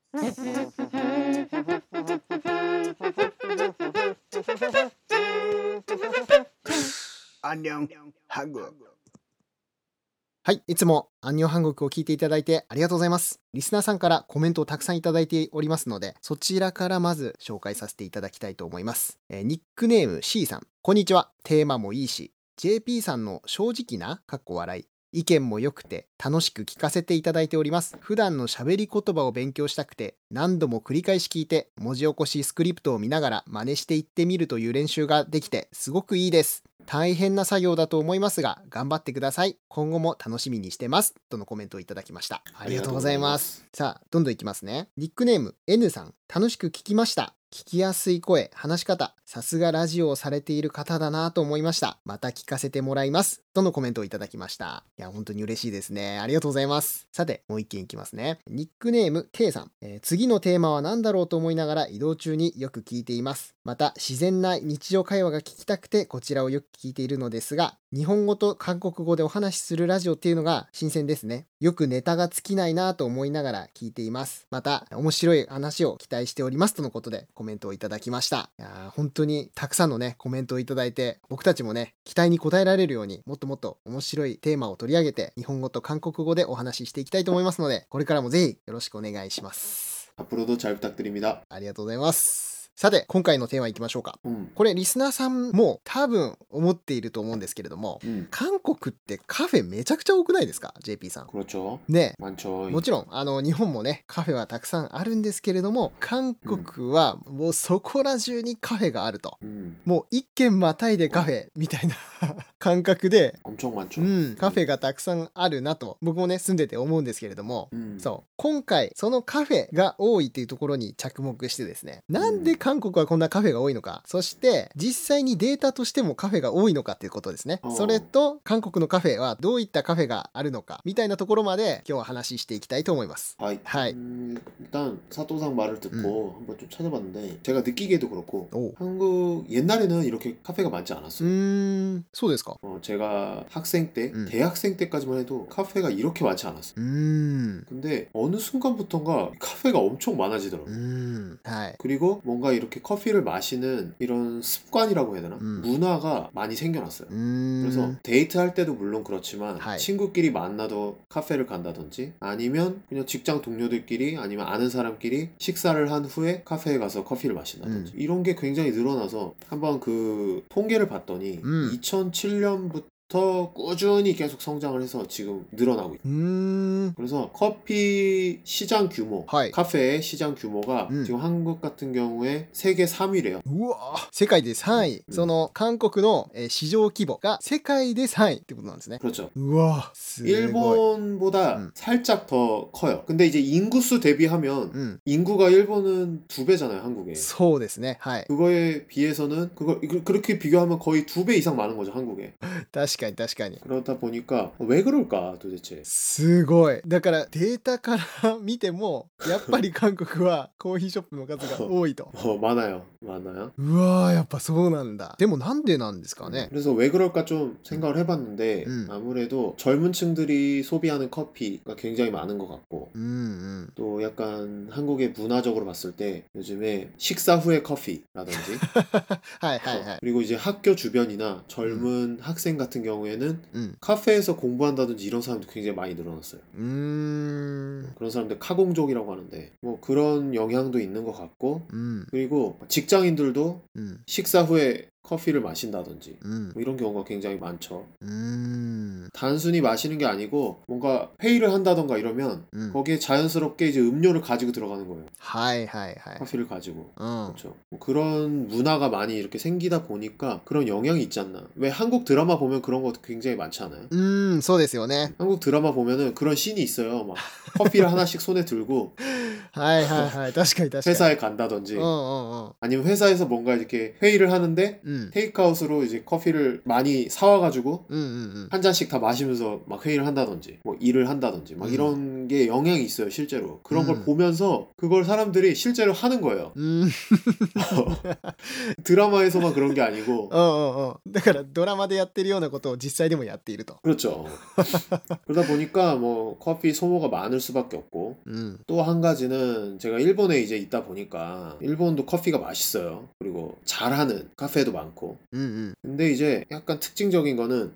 안녕 한국。 はい、いつもアンニョン韓国を聞いていただいてありがとうございます。リスナーさんからコメントをたくさんいただいておりますので、そちらからまず紹介させていただきたいと思います。ニックネーム C さん、こんにちは。テーマもいいし、JP さんの正直な笑い、意見も良くて楽しく聞かせていただいております。普段の喋り言葉を勉強したくて、何度も繰り返し聞いて、文字起こしスクリプトを見ながら真似していってみるという練習ができて、すごくいいです。大変な作業だと思いますが、頑張ってください。今後も楽しみにしてます。とのコメントをいただきました。ありがとうございます。さあ、どんどんいきますね。ニックネーム N さん、楽しく聞きました。聞きやすい声、話し方、さすがラジオをされている方だなと思いました。また聞かせてもらいます。とのコメントをいただきました。いや、本当に嬉しいですね。ありがとうございます。さて、もう一件いきますね。ニックネーム K さん、次のテーマは何だろうと思いながら移動中によく聞いています。また、自然な日常会話が聞きたくてこちらをよく聞いているのですが、日本語と韓国語でお話しするラジオっていうのが新鮮ですね。よくネタが尽きないなと思いながら聞いています。また、面白い話を期待しておりますとのことでコメントをいただきました。いや本当にたくさんのね、コメントをいただいて、僕たちもね、期待に応えられるようにもっともっと面白いテーマを取り上げて、日本語と韓国語でお話ししていきたいと思いますので、これからもぜひよろしくお願いします。 앞으로도 잘 부탁드립니다. ありがとうございます。さて、今回のテーマいきましょうか。これリスナーさんも多分思っていると思うんですけれども、韓国ってカフェめちゃくちゃ多くないですか JP さん。 그렇죠. ね、 많죠. もちろん日本もねカフェはたくさんあるんですけれども、韓国はもうそこら中にカフェがあると、もう一軒またいでカフェみたいな感覚で、 엄청 많죠. カフェがたくさんあるなと僕もね住んでて思うんですけれども、そう今回そのカフェが多いっていうところに着目してですね、なんで韓国はこんなカフェが多いのか、そして実際にデータとしてもカフェが多いのかっていうことですね。それと韓国のカフェはどういったカフェがあるのかみたいなところまで今日は話していきたいと思います。 하이. はい。 일단 사또상 말을 듣고 한번 좀 찾아봤는데 제가 느끼기에도 그렇고 오. 한국 옛날에는 이렇게 카페가 많지 않았어요. そうですか。 제가 학생 때, 대학생 때까지만 해도 카페가 이렇게 많지 않았어요. 근데 어느 순간부터인가 카페가 엄청 많아지더라고요. はい。 그리고 뭔가 이렇게 커피를 마시는 이런 습관이라고 해야 되나? 문화가 많이 생겨났어요. 그래서 데이트할 때도 물론 그렇지만 하이. 친구끼리 만나도 카페를 간다든지, 아니면 그냥 직장 동료들끼리 아니면 아는 사람끼리 식사를 한 후에 카페에 가서 커피를 마신다든지 이런 게 굉장히 늘어나서 한번 그 통계를 봤더니 2007년부터 꾸준히 계속 성장을 해서 지금 늘어나고 있어요. 그래서 커피 시장 규모, 하이. 카페의 시장 규모가 지금 한국 같은 경우에 세계 3위래요. うわ、世界で3位、その韓国の市場規模が世界で3位ってことなんですね。 그렇죠. うわ、すごい。 일본보다 살짝 더 커요. 근데 이제 인구수 대비하면 인구가 일본은 2배잖아요, 한국에. そうですね。はい。 그거에 비해서는 그렇게 비교하면 거의 2배 이상 많은 거죠, 한국에. 確かに確かに。 그러다 보니까 왜 그럴까 도대체. すごい。だからデータから見てもやっぱり韓国はコーヒーショップの数が多いと。 많아요. うわー、やっぱそうなんだ。でもなんでなんですかね。 그래서 왜 그럴까 좀 생각을 해봤는데 아무래도 젊은 층들이 소비하는 커피가 굉장히 많은 것 같고, 또 약간 한국의 문화적으로 봤을 때 요즘에 식사 후에 커피라든지 はいはいはい。 그리고 이제 학교 주변이나 젊은 학생 같은 경우에는 카페에서 공부한다든지 이런 사람도 굉장히 많이 늘어났어요. 그런 사람들 카공족이라고 하는데 뭐 그런 영향도 있는 것 같고, 그리고 직장인들도 식사 후에 커피를 마신다든지 뭐 이런 경우가 굉장히 많죠. 단순히 마시는 게 아니고 뭔가 회의를 한다던가 이러면 거기에 자연스럽게 이제 음료를 가지고 들어가는 거예요. はいはいはい。 커피를 가지고. 그렇죠. 뭐 그런 문화가 많이 이렇게 생기다 보니까 그런 영향이 있지 않나. 왜 한국 드라마 보면 그런 거 굉장히 많지 않아요? そうですよね。 한국 드라마 보면은 그런 씬이 있어요. 막 커피를 하나씩 손에 들고 はいはいはい。確かに確かに。 회사에 간다든지 아니면 회사에서 뭔가 이렇게 회의를 하는데 테이크아웃으로 이제 커피를 많이 사와가지고 한 잔씩 다 마시면서 막 회의를 한다든지 뭐 일을 한다든지 막 이런 게 영향이 있어요, 실제로. 그런 걸 보면서 그걸 사람들이 실제로 하는 거예요. 드라마에서만 그런 게 아니고. だからドラマでやってるようなことを実際でもやっていると。 그렇죠. 그러다 보니까 뭐 커피 소모가 많을 수밖에 없고, 또 한 가지는 일단은 제가 일본에 이제 있다 보니까 일본도 커피가 맛있어요. 그리고 잘하는 카페도 많고. 근데 이제 약간 특징적인 거는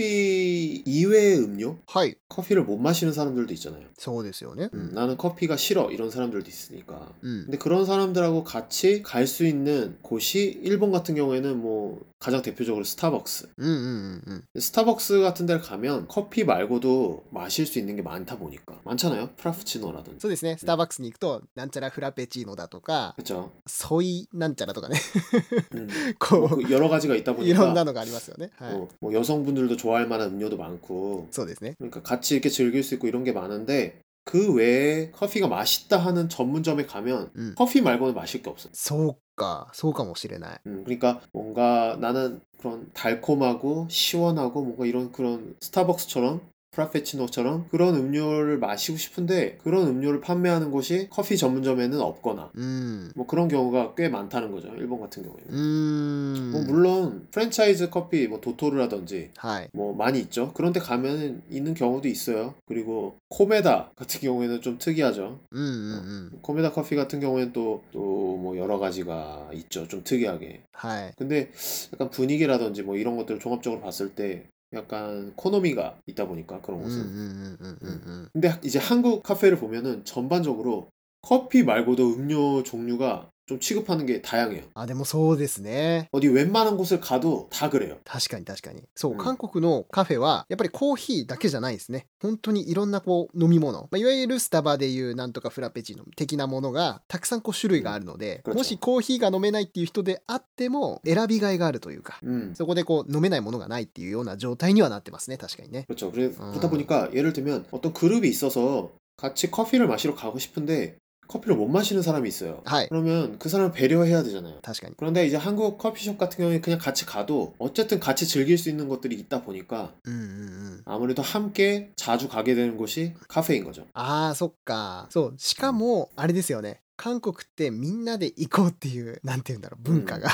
커피 이외의 음료? はい。 커피를 못 마시는 사람들도 있잖아요. そうですよね。 나는 커피가 싫어 이런 사람들도 있으니까. うん。 근데 그런 사람들하고 같이 갈 수 있는 곳이 일본 같은 경우에는 뭐 가장 대표적으로 스타벅스. うんうんうんうん。 스타벅스 같은 데를 가면 커피 말고도 마실 수 있는 게 많다 보니까 많잖아요. 프라푸치노라든지. そうですね。スターバックスに行くと、なんちゃらフラペチーノだとか、 그렇죠. ソイなんちゃらとかね。 뭐 こ 그 여러 가지가 있다 う、いろん 보니까 なのがありますよね。はい。 뭐 여성분들도 좋아할 만한 음료도 많고 そうですね。 그러니까 같이 이렇게 즐길 수 있고 이런 게 많은데 그 외에 커피가 맛있다 하는 전문점에 가면 うん。 커피 말고는 마실 게 없어요. そうか。そうかもしれない。 그러니까 뭔가 나는 그런 달콤하고 시원하고 뭔가 이런 그런 스타벅스처럼 프라페치노처럼 그런 음료를 마시고 싶은데 그런 음료를 판매하는 곳이 커피 전문점에는 없거나 うん。 뭐 그런 경우가 꽤 많다는 거죠. 일본 같은 경우에는. うー 뭐 ん。 물론 프랜차이즈 커피 뭐 도토르라든지 はい。 뭐 많이 있죠. 그런 데 가면 있는 경우도 있어요. 그리고 코메다 같은 경우에는 좀 특이하죠. うんうんうん。 코메다 커피 같은 경우에는 또 뭐 여러 가지가 있죠. 좀 특이하게. はい。 근데 약간 분위기라든지 뭐 이런 것들을 종합적으로 봤을 때 약간 코노미가 있다 보니까 그런 うんうんう 곳은. んうんうんうん。 근데 이제 한국 카페를 보면은 전반적으로 커피 말고도 음료 종류가 좀 취급하는 게 다양해요. あ、でもそうですね。 어디 웬만한 곳을 가도 다 그래요. 確かに確かに。そう、 うん。 韓国のカフェは、やっぱりコーヒーだけじゃないですね。本当にいろんなこう飲み物。まあ、いわゆるスタバでいうなんとかフラペチーノ的なものが、たくさんこう種類があるので、 うん。 もしコーヒーが飲めないっていう人であっても、選びがいがあるというか、 そこでこう飲めないものがないっていうような状態にはなってますね。確かにね。 그렇죠. 그러다 보니까 예를 들면 어떤 그룹이 있어서 같이 커피를 마시러 가고 싶은데 커피를 못 마시는 사람이 있어요. はい。 그러면 그 사람을 배려해야 되잖아요. 確かに。 그런데 이제 한국 커피숍 같은 경우에 그냥 같이 가도 어쨌든 같이 즐길 수 있는 것들이 있다 보니까 うんうんうん。 아무래도 함께 자주 가게 되는 곳이 카페인 거죠. ああ、そっか。そう。しかも、あれですよね。韓国ってみんなで行こうっていう、なんて言うんだろう、文化が。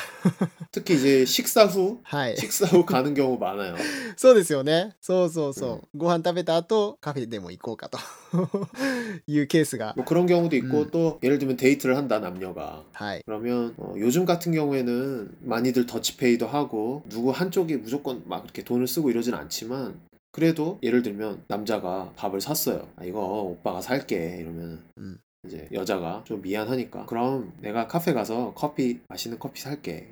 특히 이제 식사 후 はい。 식사 후 가는 경우 많아요. そうですよね。そうそうそう。ご飯食べた後、カフェでも行こうかというケースが。 뭐 그런 경우도 있고 또 예를 들면 데이트를 한다 남녀가. はい。 그러면 요즘 같은 경우에는 많이들 더치페이도 하고 누구 한쪽이 무조건 막 이렇게 돈을 쓰고 이러진 않지만 그래도 예를 들면 남자가 밥을 샀어요. 아, 이거 오빠가 살게 이러면 이제 여자가 좀 미안하니까 그럼 내가 카페 가서 맛있는 커피 살게.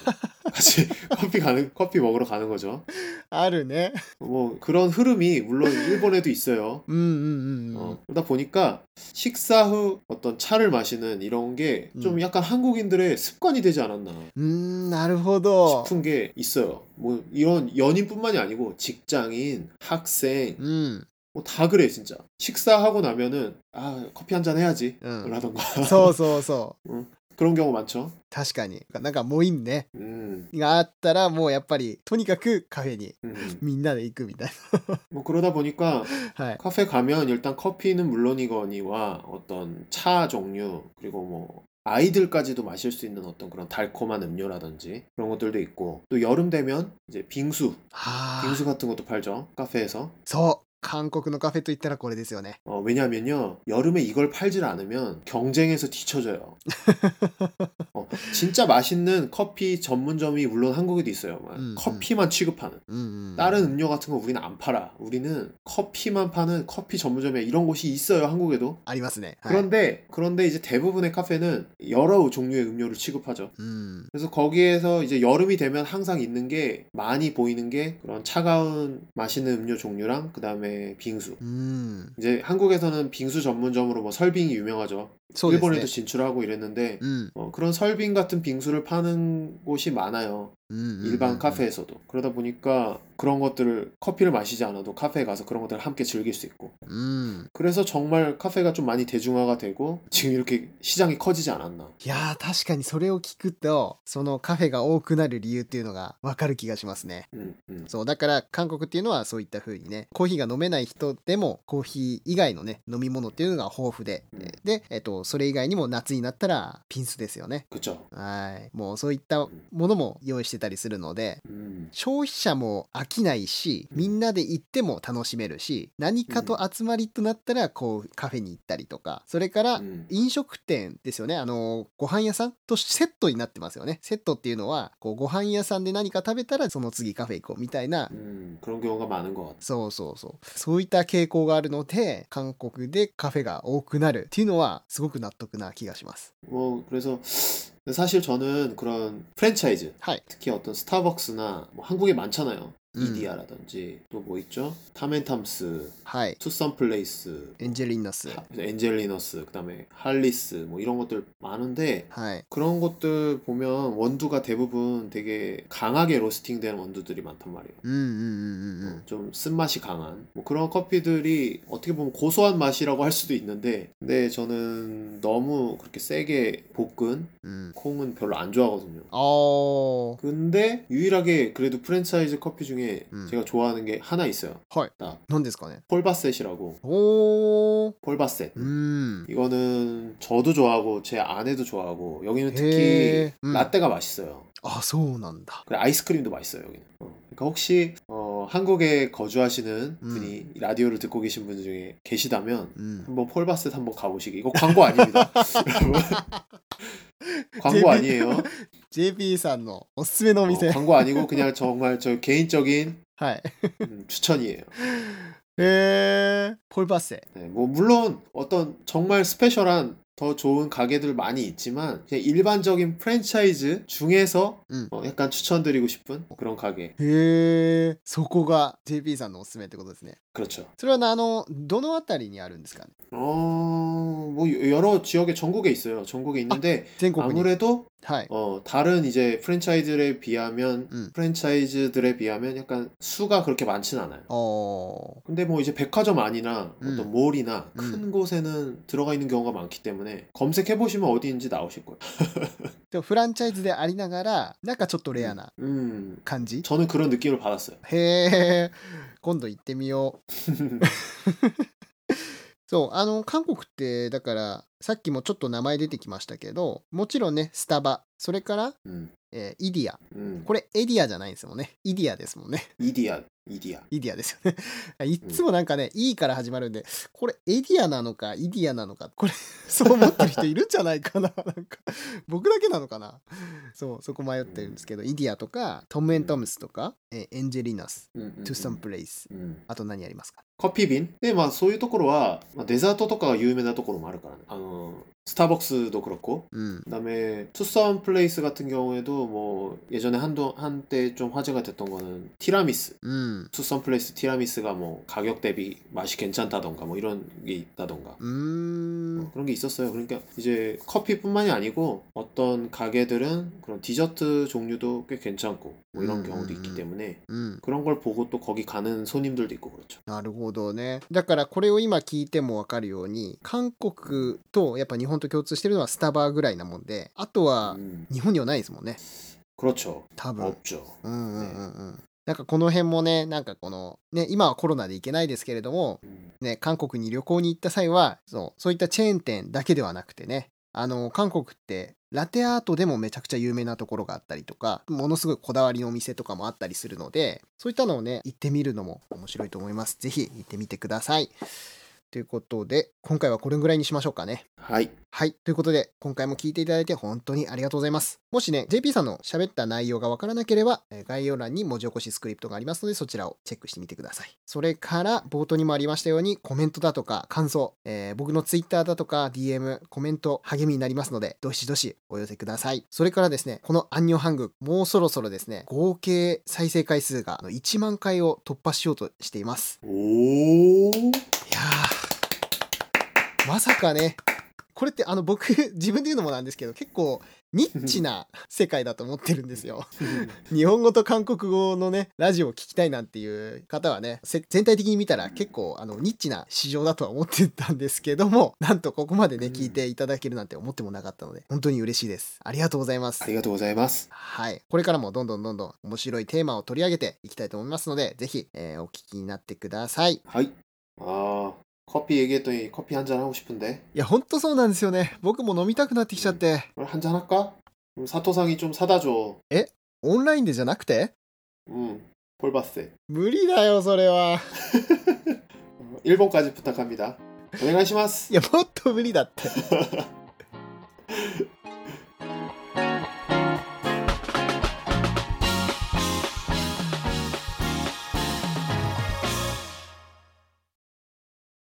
같이 커피 먹으러 가는 거죠. あるね。 뭐 그런 흐름이 물론 일본에도 있어요. うんうんうんうん。 그러다 보니까 식사 후 어떤 차를 마시는 이런 게 좀 약간 한국인들의 습관이 되지 않았나 なるほど。 싶은 게 있어요. 뭐 이런 연인뿐만이 아니고 직장인, 학생 うん。 뭐 다 그래 진짜. 식사하고 나면은 아 커피 한 잔 해야지 라던가 そうそうそう。 그런 경우 많죠. 確かに。なんかもういいね。 음, があったらもうやっぱり、とにかくカフェに 음. みんなで行くみたい 뭐 그러다 보니까 な。はい。 카페 가면 일단 커피는 물론이거니와 어떤 차 종류 그리고 뭐 아이들까지도 마실 수 있는 어떤 그런 달콤한 음료라든지 그런 것들도 있고 또 여름 되면 이제 빙수 はあ。 빙수 같은 것도 팔죠 카페에서 そう。韓国のカフェといったらこれですよね。 왜냐면요 여름에 이걸 팔질 않으면 경쟁에서 뒤처져요. 진짜 맛있는 커피 전문점이 물론 한국에도 있어요. 커피만 취급하는 うんうん。 다른 음료 같은 거 우리는 안 팔아. 우리는 커피만 파는 커피 전문점에 이런 곳이 있어요 한국에도. ありますね。はい。 그런데 이제 대부분의 카페는 여러 종류의 음료를 취급하죠. うん。 그래서 거기에서 이제 여름이 되면 항상 있는 게 많이 보이는 게 그런 차가운 맛있는 음료 종류랑 그 다음에 빙수. うん。 이제 한국에서는 빙수 전문점으로 뭐 설빙이 유명하죠. そうですね。 일본에도 진출하고 이랬는데 うん。 그런 설빙 같은 빙수를 파는 곳이 많아요. うんうんうんうん。 일반 카페에서도. 그러다 보니까 그런 것들을 커피를 마시지 않아도 카페에 가서 그런 것들을 함께 즐길 수 있고. うん。 그래서 정말 카페가 좀 많이 대중화가 되고 지금 이렇게 시장이 커지지 않았나. いやー、確かにそれを聞くと、そのカフェが多くなる理由っていうのがわかる気がしますね。 そう、だから韓国っていうのはそういった風にね、コーヒーが飲めない人でもコーヒー以外のね、飲み物っていうのが豊富で、で、それ以外にも夏になったらピンスですよね。 그쵸. はい。もうそういったものも用意してたりするので、 消費者も飽きないし、みんなで行っても楽しめるし、何かと集まりとなったらこうカフェに行ったりとか、それから飲食店ですよね。ご飯屋さんとセットになってますよね。セットっていうのはこうご飯屋さんで何か食べたらその次カフェ行こうみたいな。 그런 경우가 많은 것 같아요. そういった傾向があるので、韓国でカフェが多くなるっていうのはすごく納得な気がします。 그래서 사실 저는 그런 프랜차이즈, はい。 특히 어떤 스타벅스나 뭐 한국에 많잖아요. 이디야라든지 또 뭐 있죠? 탐앤탐스, はい。 투썸플레이스, エンジェリナス。 엔젤리너스, 그다음에 할리스 뭐 이런 것들 많은데 はい。 그런 것들 보면 원두가 대부분 되게 강하게 로스팅된 원두들이 많단 말이에요. 좀 쓴맛이 강한 뭐 그런 커피들이 어떻게 보면 고소한 맛이라고 할 수도 있는데, 근데 저는 너무 그렇게 세게 볶은 콩은 별로 안 좋아하거든요. 근데 유일하게 그래도 프랜차이즈 커피 중에 제가 좋아하는 게 하나 있어요. はい。 딱 何ですかね。 폴바셋이라고. おー。 폴바셋. 이거는 저도 좋아하고 제 아내도 좋아하고, 여기는 특히 해. 라떼가 맛있어요. あ、そうなんだ。 그리고 아이스크림도 맛있어요, 여기는. 그러니까 혹시 한국에 거주하시는 분이 이 라디오를 듣고 계신 분 중에 계시다면 한번 폴바셋 한번 가보시기. 이거 광고 아닙니다. 여러분. 광고 아니에요. JP さんのおすすめのお店。 광고 아니고 그냥 정말 저 개인적인 はい。 추천이에요. 폴바세. 네, 뭐 물론 어떤 정말 스페셜한 더 좋은 가게들 많이 있지만, 그냥 일반적인 프랜차이즈 중에서 약간 추천드리고 싶은 그런 가게. へえ、そこが JP さんのおすすめってことですね。 그렇죠. それはどのあたりにあるんですかね。 뭐 여러 지역에 전국에 있어요. 전국에 있는데 아무래도 はい。 다른 이제 프랜차이즈들에 비하면 약간 수가 그렇게 많진 않아요. 근데 뭐 이제 백화점 안이나 어떤 몰이나 큰 곳에는 들어가 있는 경우가 많기 때문에 검색해 보시면 어디인지 나오실 거예요. でもフランチャイズでありながら、なんかちょっとレアな感じ。 저는 그런 느낌을 받았어요. へえ、今度行ってみよう。そう、韓国ってだからさっきもちょっと名前出てきましたけど、もちろんねスタバ、それから、イディア、これエディアじゃないんですもんね。イディアですもんね。 イディアですよね。いつもなんかね、E から始まるんで、これエディアなのかイディアなのか、これそう思ってる人いるんじゃないかな。なんか僕だけなのかな。そう、そこ迷ってるんですけど、イディアとかトム&トムスとか、エンジェリナス、トゥサムプレイス、あと何ありますか。 커피빈? 네, 막, そういうところは 데자트 とかが有名なところもあるからね. 스타벅스도 그렇고, 그다음에 투썸 플레이스 같은 경우에도 뭐 예전에 한때 좀 화제가 됐던 거는 티라미스. 투썸 플레이스 티라미스가 뭐 가격 대비 맛이 괜찮다던가 뭐 이런 게 있다던가. 뭐 그런 게 있었어요. 그러니까 이제 커피뿐만이 아니고 어떤 가게들은 그런 디저트 종류도 꽤 괜찮고 뭐 이런 경우도 있기 때문에 그런 걸 보고 또 거기 가는 손님들도 있고 그렇죠. なるほどね。だからこれを今聞いても分かるように、韓国とやっぱ日本と共通してるのはスタバぐらいなもんで、あとは日本にはないですもんね。 그렇죠. 多分。 없죠. なんかこの辺もね、なんかこのね、今はコロナで行けないですけれども、ね、韓国に旅行に行った際はそういったチェーン店だけではなくてね、韓国ってラテアートでもめちゃくちゃ有名なところがあったりとか、ものすごいこだわりのお店とかもあったりするので、そういったのをね行ってみるのも面白いと思います。ぜひ行ってみてください。ということで、今回はこれぐらいにしましょうかね。 はい。 はい。ということで、今回も聞いていただいて本当にありがとうございます。もしね、JP さんの喋った内容がわからなければ、概要欄に文字起こしスクリプトがありますので、そちらをチェックしてみてください。それから、冒頭にもありましたように、コメントだとか感想、僕の Twitter だとか DM、コメント、励みになりますので、どしどしお寄せください。それからですね、このアンニョンハング、もうそろそろですね、合計再生回数が1万回を突破しようとしています。 おー。 いやー。まさかね、これって僕自分で言うのもなんですけど、結構ニッチな世界だと思ってるんですよ。日本語と韓国語のねラジオを聞きたいなんていう方はね、全体的に見たら結構ニッチな市場だとは思ってたんですけども、なんとここまでね聞いていただけるなんて思ってもなかったので、本当に嬉しいです。ありがとうございます。 ありがとうございます。 はい、これからもどんどん面白いテーマを取り上げていきたいと思いますので、ぜひ、お聞きになってください。 はい。커피 얘기했더니 커피 한잔 하고 싶은데. いや、ほんとそうなんですよね。僕も飲みたくなってきちゃって。 한잔 할까? 사토상이 좀 사다 줘. オンラインでじゃなくて？ 폴바세. 無理だよそれは。 일본까지 부탁합니다. お願いします。 いやもっと無理だって。